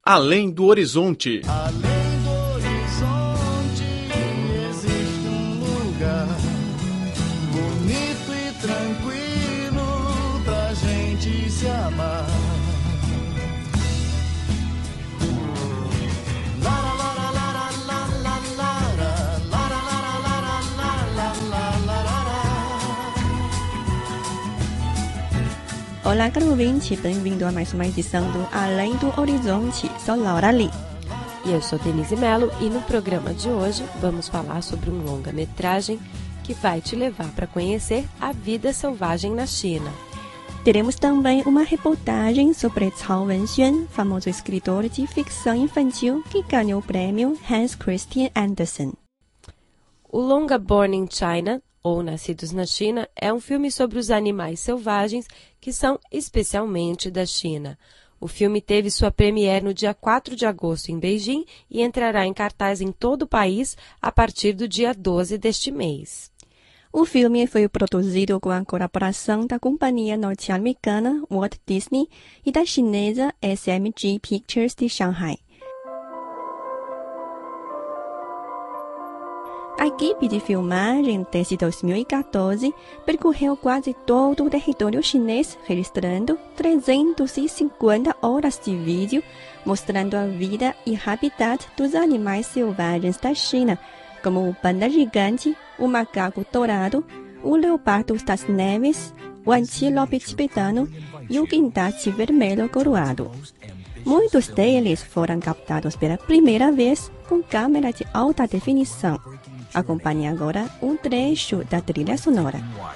Além do Horizonte. Além do horizonte existe lugar bonito e tranquilo pra gente se amar. Olá, caro ouvinte, bem-vindo a mais uma edição do Além do Horizonte. Sou Laura Lee. E eu sou Denise Mello e no programa de hoje vamos falar sobre um longa-metragem que vai te levar para conhecer a vida selvagem na China. Teremos também uma reportagem sobre Cao Wenxuan, famoso escritor de ficção infantil que ganhou o prêmio Hans Christian Andersen. O longa Born in China, ou Nascidos na China, é um filme sobre os animais selvagens que são especialmente da China. O filme teve sua premiere no dia 4 de agosto em Beijing e entrará em cartaz em todo o país a partir do dia 12 deste mês. O filme foi produzido com a colaboração da companhia norte-americana Walt Disney e da chinesa SMG Pictures de Shanghai. A equipe de filmagem, desde 2014, percorreu quase todo o território chinês, registrando 350 horas de vídeo, mostrando a vida e habitat dos animais selvagens da China, como o panda gigante, o macaco dourado, o leopardo das neves, o antílope tibetano e o guindaste vermelho coroado. Muitos deles foram captados pela primeira vez com câmera de alta definição. Acompanhe agora um trecho da trilha sonora.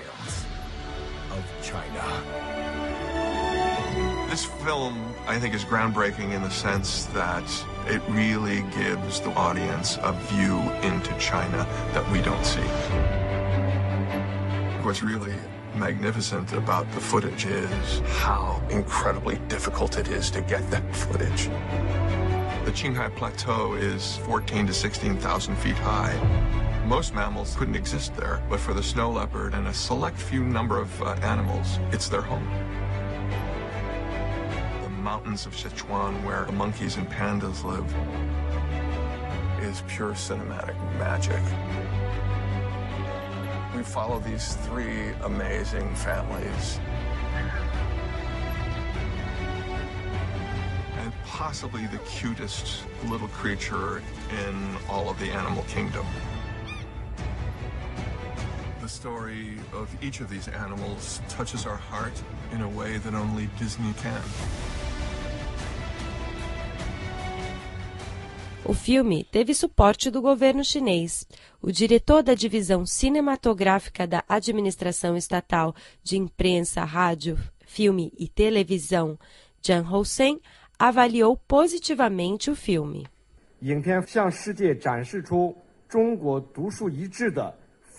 This film, I think, is groundbreaking in the sense that it really gives the audience a view into China that we don't see. What's really magnificent about the footage is how incredibly difficult it is to get that footage. The Qinghai Plateau is 14 to 16,000 feet high. Most mammals couldn't exist there, but for the snow leopard and a select few number of animals, it's their home. The mountains of Sichuan, where the monkeys and pandas live, is pure cinematic magic. We follow these three amazing families. And possibly the cutest little creature in all of the animal kingdom. The story of each of these animals touches our heart in a way that only Disney can. O filme teve suporte do governo chinês. O diretor da divisão cinematográfica da Administração Estatal de Imprensa, Rádio, Filme e Televisão, Zhang Housen, avaliou positivamente o filme. 影片向世界展示出中国独树一帜的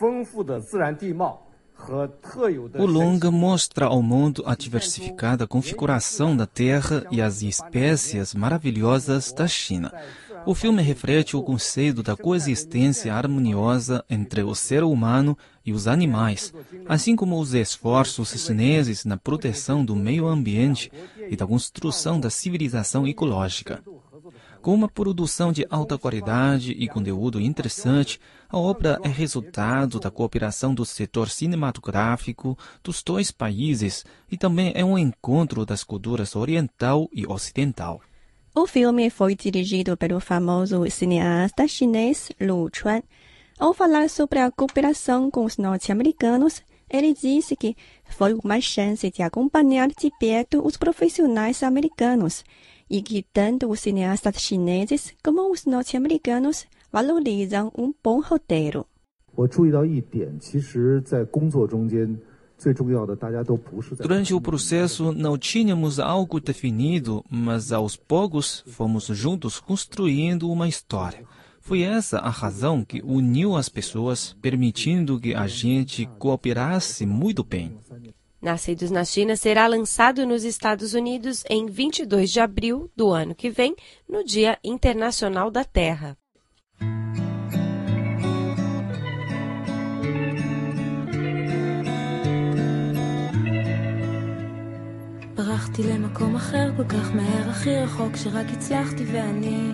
O longa mostra ao mundo a diversificada configuração da terra e as espécies maravilhosas da China. O filme reflete o conceito da coexistência harmoniosa entre o ser humano e os animais, assim como os esforços chineses na proteção do meio ambiente e da construção da civilização ecológica. Com uma produção de alta qualidade e conteúdo interessante, a obra é resultado da cooperação do setor cinematográfico dos dois países e também é um encontro das culturas oriental e ocidental. O filme foi dirigido pelo famoso cineasta chinês Lu Chuan. Ao falar sobre a cooperação com os norte-americanos, ele disse que foi uma chance de acompanhar de perto os profissionais americanos e que tanto os cineastas chineses como os norte-americanos valorizam um bom roteiro. Durante o processo não tínhamos algo definido, mas aos poucos fomos juntos construindo uma história. Foi essa a razão que uniu as pessoas, permitindo que a gente cooperasse muito bem. Nascidos na China será lançado nos Estados Unidos em 22 de abril do ano que vem, no Dia Internacional da Terra. ברחתי למקום אחר כל כך מהר, הכי רחוק שרק הצלחתי ואני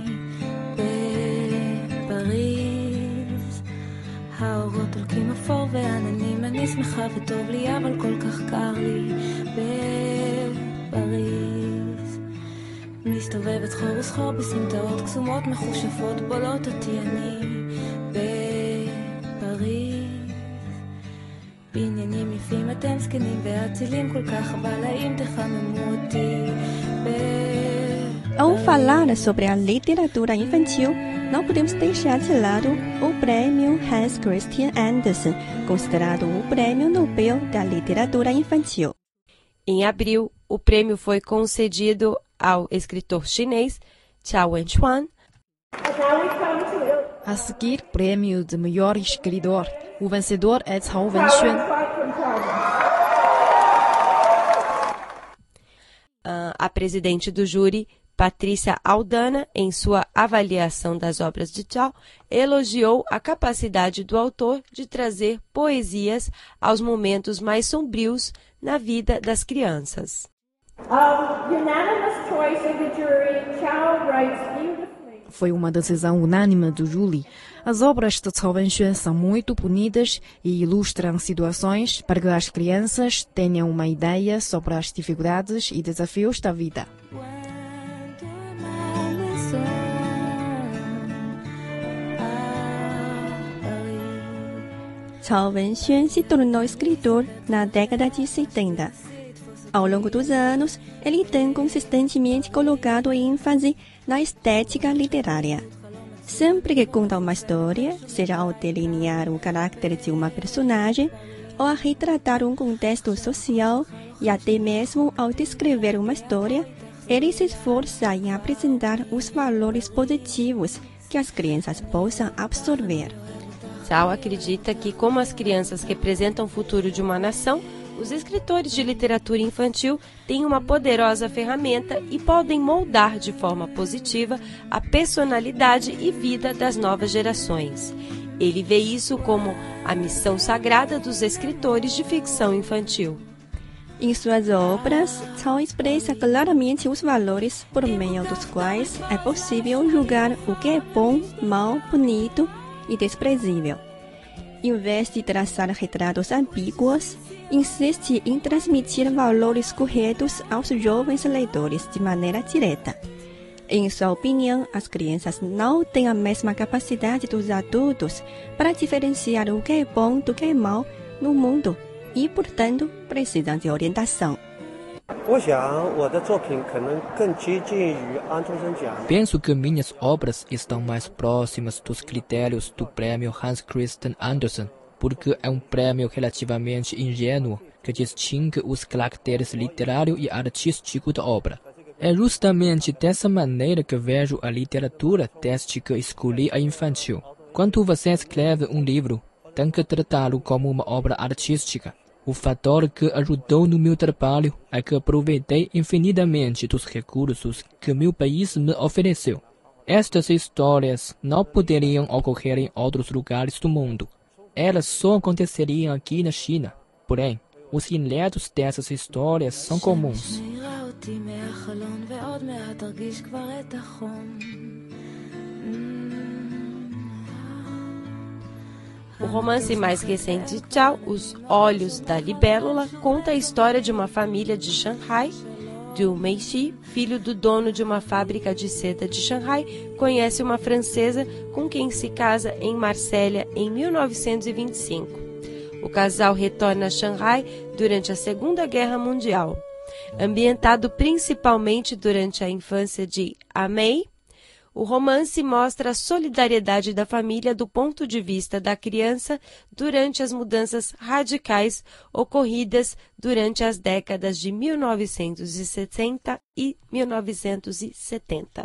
בפריז. האורות הולכים אפור ועננים, אני שמחה וטוב לי אבל כל כך קר לי בפריז. מסתובבת חור וסחור בסמטאות קסומות מחושפות בולות אותי אני בפריז. בעניינים יפים אתם זקנים ואצילים כל כך, אבל האם תחממו אותי Ao falar sobre a literatura infantil, não podemos deixar de lado o prêmio Hans Christian Andersen, considerado o prêmio Nobel da literatura infantil. Em abril, o prêmio foi concedido ao escritor chinês Chao Wenchuan. A seguir, prêmio de melhor escritor. O vencedor é Cao Wenxuan. A presidente do júri, Patrícia Aldana, em sua avaliação das obras de Chao, elogiou a capacidade do autor de trazer poesias aos momentos mais sombrios na vida das crianças. Foi uma decisão unânime do júri. As obras de Cao Wenxuan são muito bonitas e ilustram situações para que as crianças tenham uma ideia sobre as dificuldades e desafios da vida. Cao Wenxuan se tornou escritor na década de 70. Ao longo dos anos, ele tem consistentemente colocado ênfase na estética literária. Sempre que conta uma história, seja ao delinear o caráter de uma personagem, ou a retratar um contexto social, e até mesmo ao descrever uma história, ele se esforça em apresentar os valores positivos que as crianças possam absorver. Chao acredita que, como as crianças representam o futuro de uma nação, os escritores de literatura infantil têm uma poderosa ferramenta e podem moldar de forma positiva a personalidade e vida das novas gerações. Ele vê isso como a missão sagrada dos escritores de ficção infantil. Em suas obras, Chao expressa claramente os valores por meio dos quais é possível julgar o que é bom, mal, bonito e desprezível. Em vez de traçar retratos ambíguos, insiste em transmitir valores corretos aos jovens leitores de maneira direta. Em sua opinião, as crianças não têm a mesma capacidade dos adultos para diferenciar o que é bom do que é mal no mundo e, portanto, precisam de orientação. Penso que minhas obras estão mais próximas dos critérios do prêmio Hans Christian Andersen, porque é um prêmio relativamente ingênuo que distingue os caracteres literário e artístico da obra. É justamente dessa maneira que vejo a literatura desde que escolhi a infantil. Quando você escreve um livro, tem que tratá-lo como uma obra artística. O fator que ajudou no meu trabalho é que aproveitei infinitamente dos recursos que meu país me ofereceu. Estas histórias não poderiam ocorrer em outros lugares do mundo. Elas só aconteceriam aqui na China. Porém, os enredos dessas histórias são comuns. O romance mais recente de Chao, Os Olhos da Libélula, conta a história de uma família de Shanghai. Liu Meixi, filho do dono de uma fábrica de seda de Shanghai, conhece uma francesa com quem se casa em Marsella em 1925. O casal retorna a Shanghai durante a Segunda Guerra Mundial. Ambientado principalmente durante a infância de Mei, o romance mostra a solidariedade da família do ponto de vista da criança durante as mudanças radicais ocorridas durante as décadas de 1960 e 1970.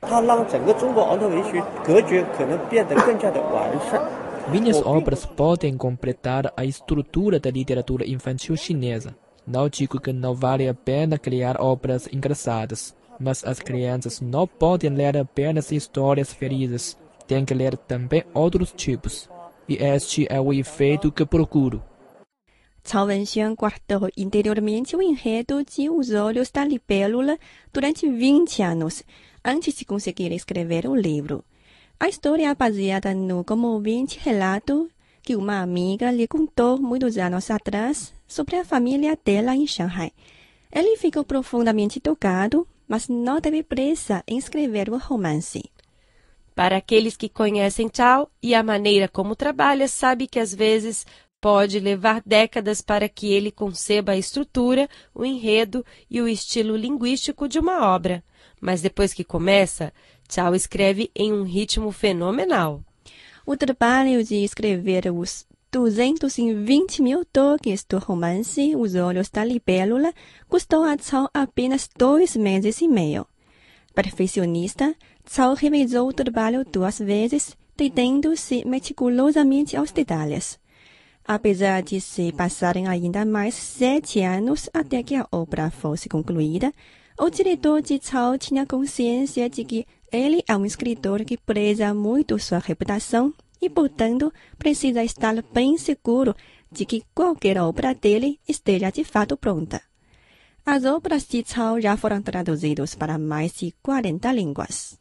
Minhas obras podem completar a estrutura da literatura infantil chinesa. Não digo que não vale a pena criar obras engraçadas, mas as crianças não podem ler apenas histórias felizes, têm que ler também outros tipos. E este é o efeito que procuro. Cao Wenxuan guardou interiormente o enredo de Os Olhos da Libélula durante 20 anos, antes de conseguir escrever o livro. A história é baseada no comovente relato que uma amiga lhe contou muitos anos atrás sobre a família dela em Shanghai. Ele ficou profundamente tocado, mas não teve pressa em escrever o romance. Para aqueles que conhecem Cao e a maneira como trabalha, sabe que às vezes pode levar décadas para que ele conceba a estrutura, o enredo e o estilo linguístico de uma obra. Mas depois que começa, Cao escreve em um ritmo fenomenal. O trabalho de escrever os 220 mil toques do romance Os Olhos da Libélula custou a Cao apenas 2 meses e meio. Perfeccionista, Cao revisou o trabalho 2 vezes, detendo-se meticulosamente aos detalhes. Apesar de se passarem ainda mais 7 anos até que a obra fosse concluída, o diretor de Cao tinha consciência de que ele é um escritor que preza muito sua reputação e, portanto, precisa estar bem seguro de que qualquer obra dele esteja de fato pronta. As obras de Cao já foram traduzidas para mais de 40 línguas.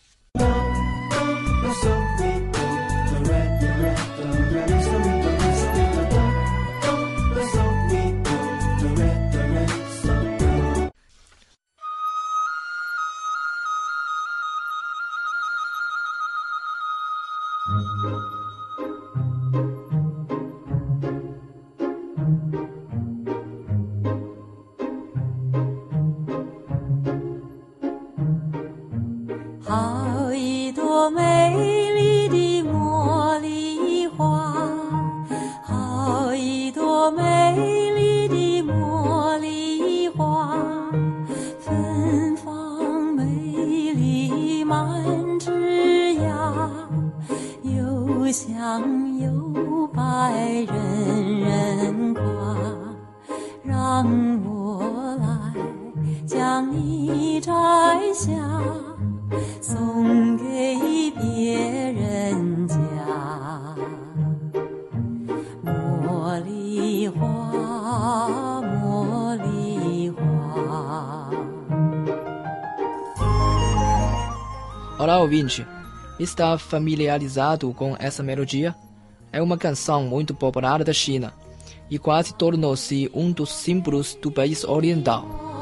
Olá, ouvinte. Está familiarizado com essa melodia? É uma canção muito popular da China e quase tornou-se um dos símbolos do país oriental.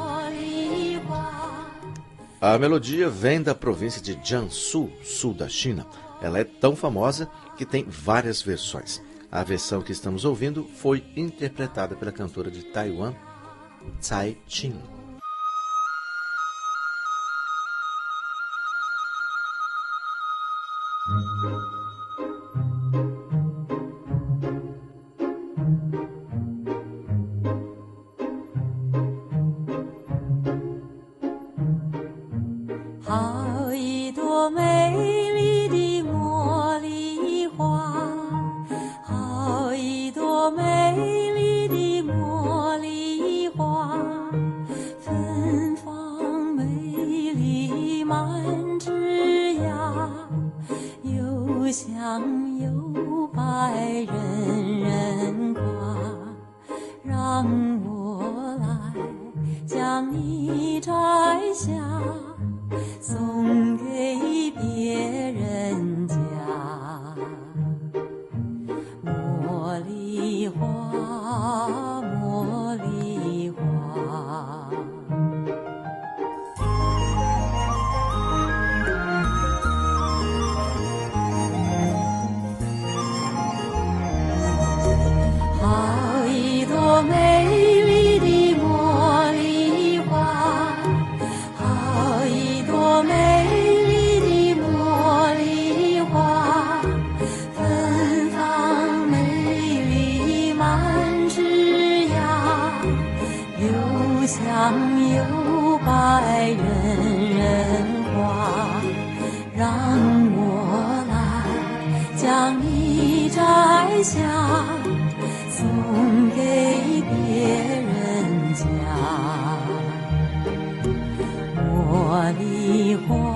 A melodia vem da província de Jiangsu, sul da China. Ela é tão famosa que tem várias versões. A versão que estamos ouvindo foi interpretada pela cantora de Taiwan, Cai Qin. 茉莉花